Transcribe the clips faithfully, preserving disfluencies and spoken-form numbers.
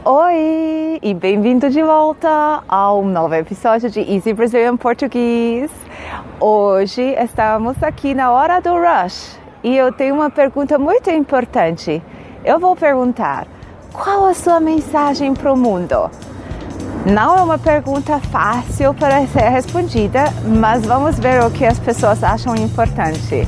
Oi e bem-vindo de volta ao novo episódio de Easy Brazilian Português. Hoje estamos aqui na hora do rush e eu tenho uma pergunta muito importante. Eu vou perguntar, qual a sua mensagem para o mundo? Não é uma pergunta fácil para ser respondida, mas vamos ver o que as pessoas acham importante.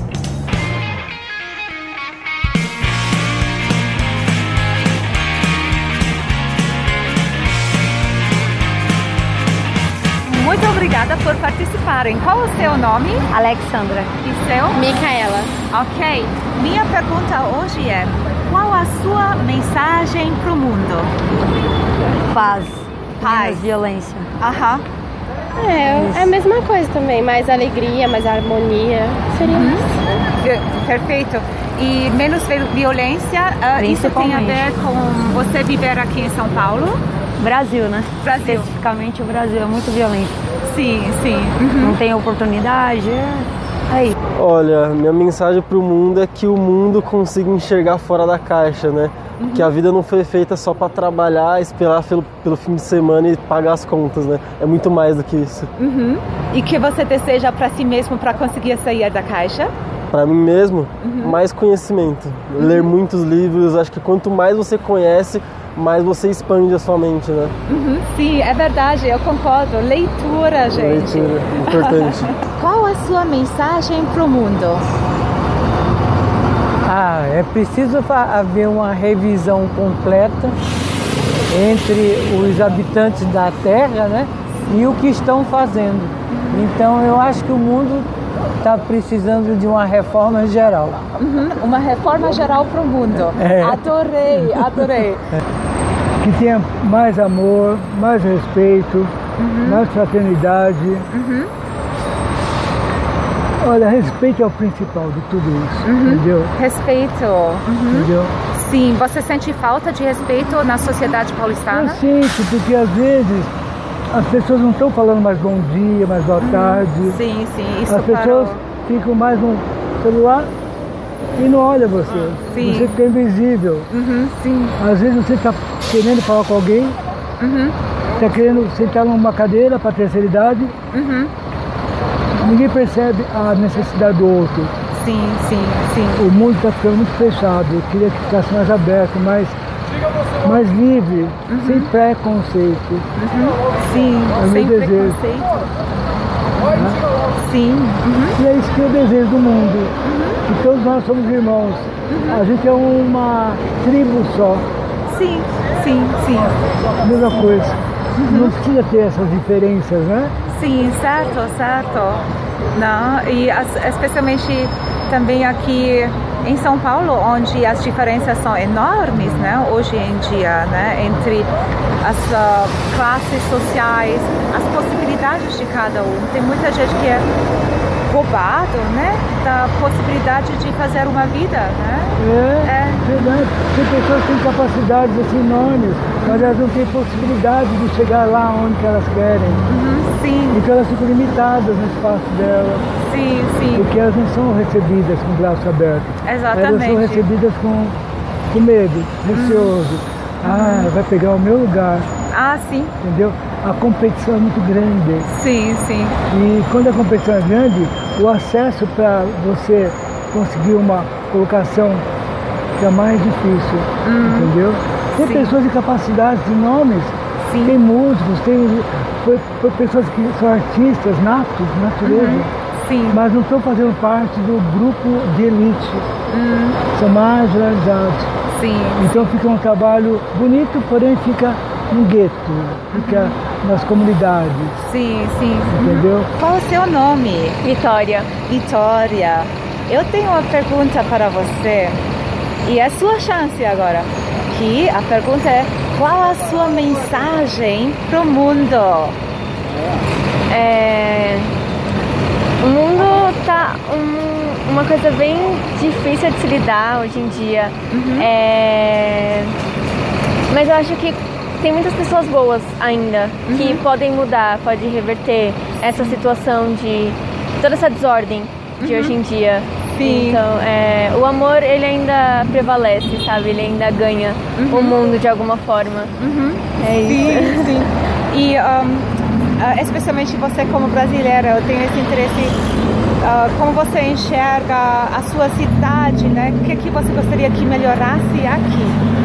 Muito obrigada por participarem. Qual é o seu nome? Alexandra. E seu? Micaela. Ok. Minha pergunta hoje é, qual a sua mensagem para o mundo? Paz. Paz. Menos violência. Aham. É, é a mesma coisa também. Mais alegria, mais harmonia. Seria Uhum. isso. Perfeito. E menos violência, uh, isso tem a ver com você viver aqui em São Paulo? Brasil, né? Brasil. Especificamente o Brasil é muito violento. Sim, sim. Uhum. Não tem oportunidade. É... Aí. Olha, minha mensagem pro mundo é que o mundo consiga enxergar fora da caixa, né? Uhum. Que a vida não foi feita só para trabalhar, esperar pelo, pelo fim de semana e pagar as contas, né? É muito mais do que isso. Uhum. E que você deseja para si mesmo para conseguir sair da caixa? Para mim mesmo, uhum. mais conhecimento. Uhum. Ler muitos livros. Acho que quanto mais você conhece, mais você expande a sua mente, né? Uhum, sim, é verdade, eu concordo. Leitura, gente. Leitura, importante. Qual a sua mensagem para o mundo? Ah, é preciso haver uma revisão completa entre os habitantes da Terra, né? E o que estão fazendo. Então, eu acho que o mundo está precisando de uma reforma geral. Uhum, uma reforma geral para o mundo. É. Adorei, adorei. Que tenha mais amor, mais respeito, uhum. mais fraternidade. Uhum. Olha, respeito é o principal de tudo isso, uhum. entendeu? Respeito. Uhum. Entendeu? Sim, você sente falta de respeito na sociedade paulistana? Eu sinto, porque às vezes as pessoas não estão falando mais bom dia, mais boa tarde. Uhum. Sim, sim, isso As pessoas parou. ficam mais no celular e não olha você. Sim. Você fica invisível. Uhum, sim. Às vezes você está querendo falar com alguém, está uhum. querendo sentar numa cadeira para a terceira idade, uhum. ninguém percebe a necessidade do outro. Sim, sim, sim. O mundo está ficando muito fechado. Eu queria que ficasse mais aberto, mais, mais livre, uhum. sem preconceito. Uhum. Sim, é o sem meu desejo. preconceito. Né? Sim. Uhum. E é isso que eu desejo do mundo. Uhum. Que todos nós somos irmãos. Uhum. A gente é uma tribo só. Sim, sim, sim. A mesma coisa. Uhum. Não precisa ter essas diferenças, né? Sim, certo, certo. Não, e as, especialmente também aqui em São Paulo, onde as diferenças são enormes, né? Hoje em dia, né? Entre as uh, classes sociais, as possibilidades de cada um. Tem muita gente que é roubado, né? Da possibilidade de fazer uma vida, né? É, é. Verdade. Tem pessoas que têm capacidades assim enormes, mas elas não têm possibilidade de chegar lá onde elas querem. Uhum, sim. Então elas ficam limitadas no espaço delas. Sim, sim. Porque elas não são recebidas com o braço aberto. Exatamente. Elas são recebidas com, com medo, receoso. Uhum. Ah, vai pegar o meu lugar. Ah, sim. Entendeu? A competição é muito grande. Sim, sim. E quando a competição é grande, o acesso para você conseguir uma colocação fica mais difícil, hum, entendeu? Tem sim. pessoas de capacidades enormes, sim. tem músicos, tem foi, foi pessoas que são artistas natos, natureza, uhum. sim. mas não estão fazendo parte do grupo de elite, hum. são marginalizados. Sim. Então fica um trabalho bonito, porém fica no gueto, fica uhum. nas comunidades. Sim, sim. Entendeu? Qual é o seu nome? Vitória. Vitória. Eu tenho uma pergunta para você e é sua chance agora. Que a pergunta é, qual a sua mensagem para o mundo? É... O mundo tá um, uma coisa bem difícil de se lidar hoje em dia. Uhum. É... Mas eu acho que tem muitas pessoas boas ainda, uhum. que podem mudar, podem reverter essa situação de toda essa desordem de uhum. hoje em dia. Sim. Então, é, o amor, ele ainda prevalece, sabe? Ele ainda ganha uhum. o mundo de alguma forma. Uhum. É isso. Sim, sim. E um, uh, especialmente você como brasileira, eu tenho esse interesse, uh, como você enxerga a sua cidade, né? O que, que você gostaria que melhorasse aqui?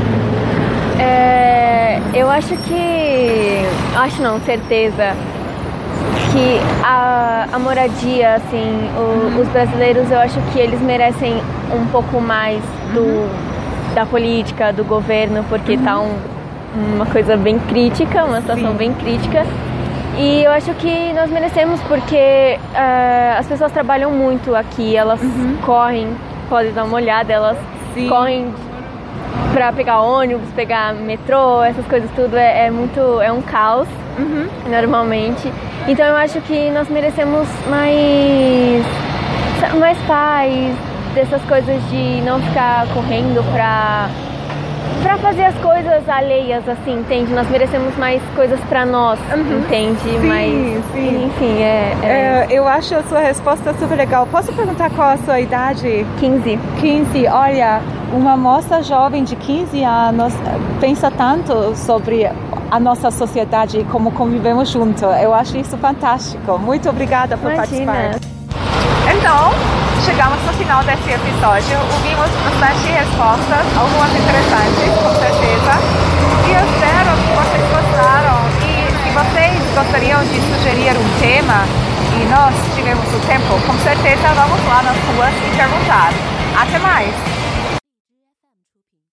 É, eu acho que... Acho não, certeza. Que a, a moradia, assim, o, uhum. os brasileiros, eu acho que eles merecem um pouco mais do, uhum. da política, do governo, porque uhum. tá um, uma coisa bem crítica, uma situação Sim. bem crítica. E eu acho que nós merecemos porque uh, as pessoas trabalham muito aqui, elas uhum. correm, podem dar uma olhada, elas Sim. correm pra pegar ônibus, pegar metrô, essas coisas tudo, é, é muito, é um caos, uhum. normalmente. Então eu acho que nós merecemos mais, mais paz, dessas coisas de não ficar correndo pra, pra fazer as coisas alheias, assim, entende? Nós merecemos mais coisas pra nós, uhum. entende? Sim, mais, sim. Enfim, é, é... é... Eu acho a sua resposta super legal. Posso perguntar qual a sua idade? quinze. quinze, olha, uma moça jovem de quinze anos pensa tanto sobre a nossa sociedade e como convivemos juntos. Eu acho isso fantástico. Muito obrigada por Imagina. participar. Então, chegamos no final desse episódio. Ouvimos bastante respostas, algumas interessantes, com certeza. E eu espero que vocês gostaram. E se vocês gostariam de sugerir um tema e nós tivemos o tempo, com certeza vamos lá nas ruas e perguntar. Até mais!